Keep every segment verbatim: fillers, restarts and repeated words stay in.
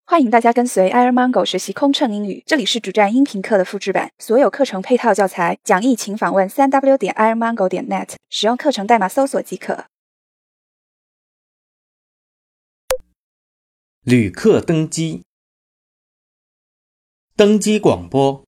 欢迎大家跟随 Airmango 学习空乘英语，这里是主站音频课的复制版，所有课程配套教材讲义请访问 三 w 点 airmango 点 net， 使用课程代码搜索即可。 旅客登机，登机广播。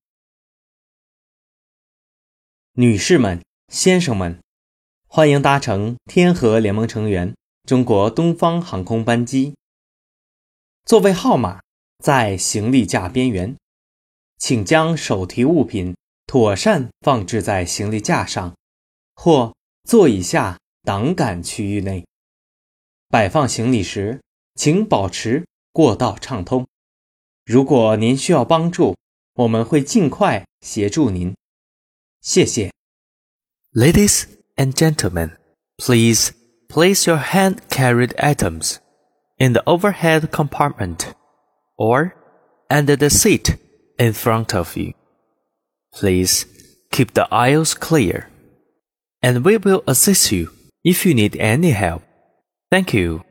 女士们、先生们，欢迎搭乘天河联盟成员中国东方航空班机。座位号码在行李架边缘，请将手提物品妥善放置在行李架上，或座椅下挡杆区域内。摆放行李时，请保持过道畅通。如果您需要帮助，我们会尽快协助您。谢谢。 Ladies and gentlemen, please place your hand-carried items in the overhead compartment or under the seat in front of you. Please keep the aisles clear, and we will assist you if you need any help. Thank you.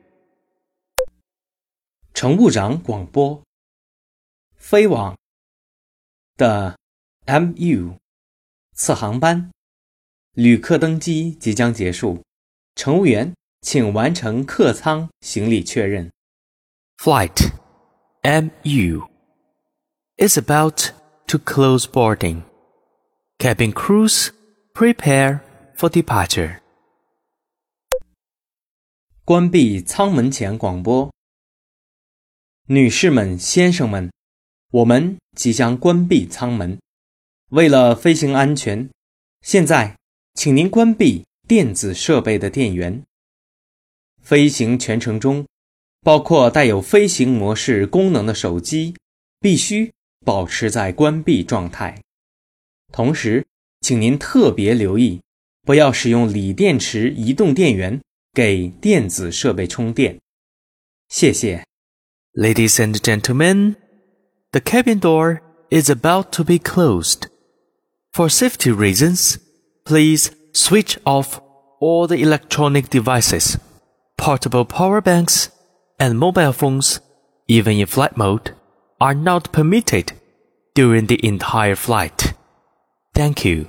乘务长广播。飞往的 M U 次航班，旅客登机即将结束，乘务员请完成客舱行李确认。 Flight M U is about to close boarding. Cabin crews prepare for departure. 关闭舱门前广播。女士们、先生们，我们即将关闭舱门。为了飞行安全，现在请您关闭电子设备的电源。飞行全程中，包括带有飞行模式功能的手机，必须保持在关闭状态。同时，请您特别留意，不要使用锂电池移动电源给电子设备充电。谢谢。 Ladies and gentlemen, the cabin door is about to be closed. For safety reasons, please switch off all the electronic devices, portable power banks, and mobile phones, even in flight mode, are not permitted during the entire flight. Thank you.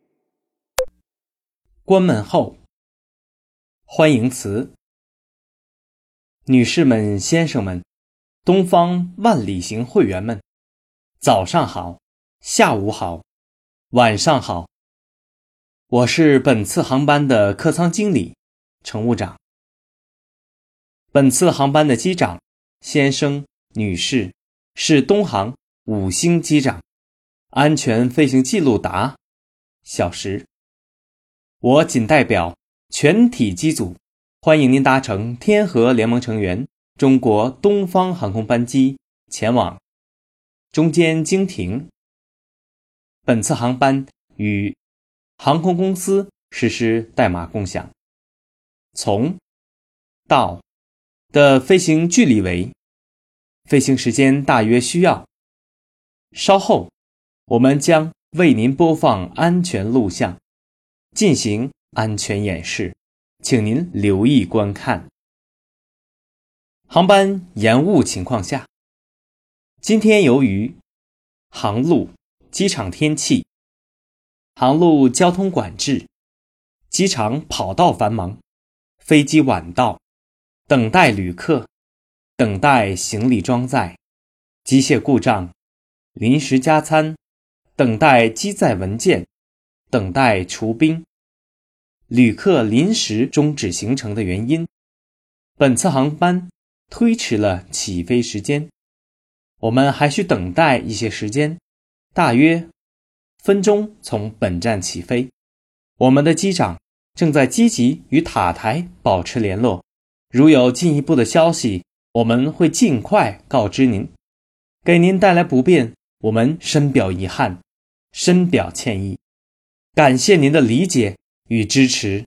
关门后，欢迎词。女士们、先生们，东方万里行会员们，早上好，下午好，晚上好。我是本次航班的客舱经理，乘务长。本次航班的机长，先生、女士，是东航五星机长，安全飞行记录达小时。我仅代表全体机组，欢迎您搭乘天河联盟成员中国东方航空班机前往中间经停。本次航班与航空公司实施代码共享。从到的飞行距离为，飞行时间大约需要。稍后我们将为您播放安全录像，进行安全演示，请您留意观看。航班延误情况下，今天由于航路、机场天气、航路交通管制、机场跑道繁忙、飞机晚到、等待旅客、等待行李装载、机械故障、临时加餐、等待机载文件、等待除冰、旅客临时终止行程的原因，本次航班推迟了起飞时间。我们还需等待一些时间，大约分钟从本站起飞。我们的机长正在积极与塔台保持联络，如有进一步的消息，我们会尽快告知您。给您带来不便，我们深表遗憾，深表歉意，感谢您的理解与支持。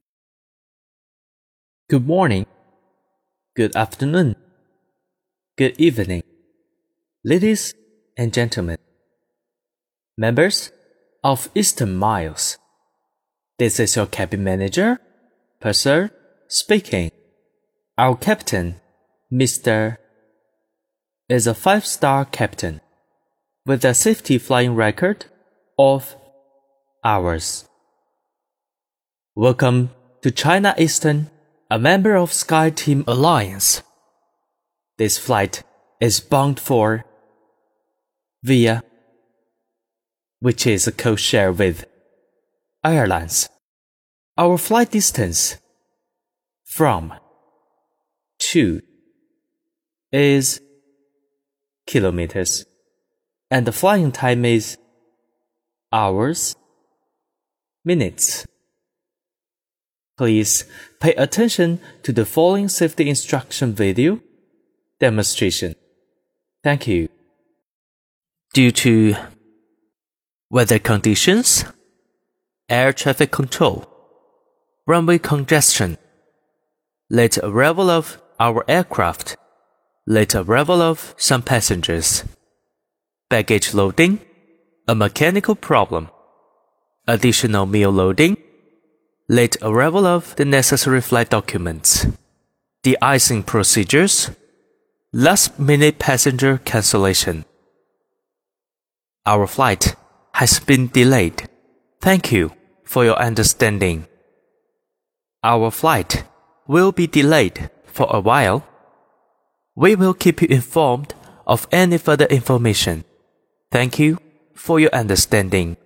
Good morning, good afternoon, good evening, ladies and gentlemen, members of Eastern Miles. This is your cabin manager, Purser, speaking. Our captain, Mister is a five-star captain with a safety flying record of hours. Welcome to China Eastern, a member of SkyTeam Alliance. This flight is bound for Via, which is a code-share with Airlines. Our flight distance from to is kilometers, and the flying time is hours, minutes. Please pay attention to the following safety instruction video demonstration. Thank you. Due to weather conditions, air traffic control, runway congestion, late arrival of our aircraft, late arrival of some passengers, baggage loading, a mechanical problem, additional meal loading, late arrival of the necessary flight documents, de-icing procedures, last-minute passenger cancellation. Our flight has been delayed. Thank you for your understanding. Our flight will be delayed for a while. We will keep you informed of any further information. Thank you for your understanding.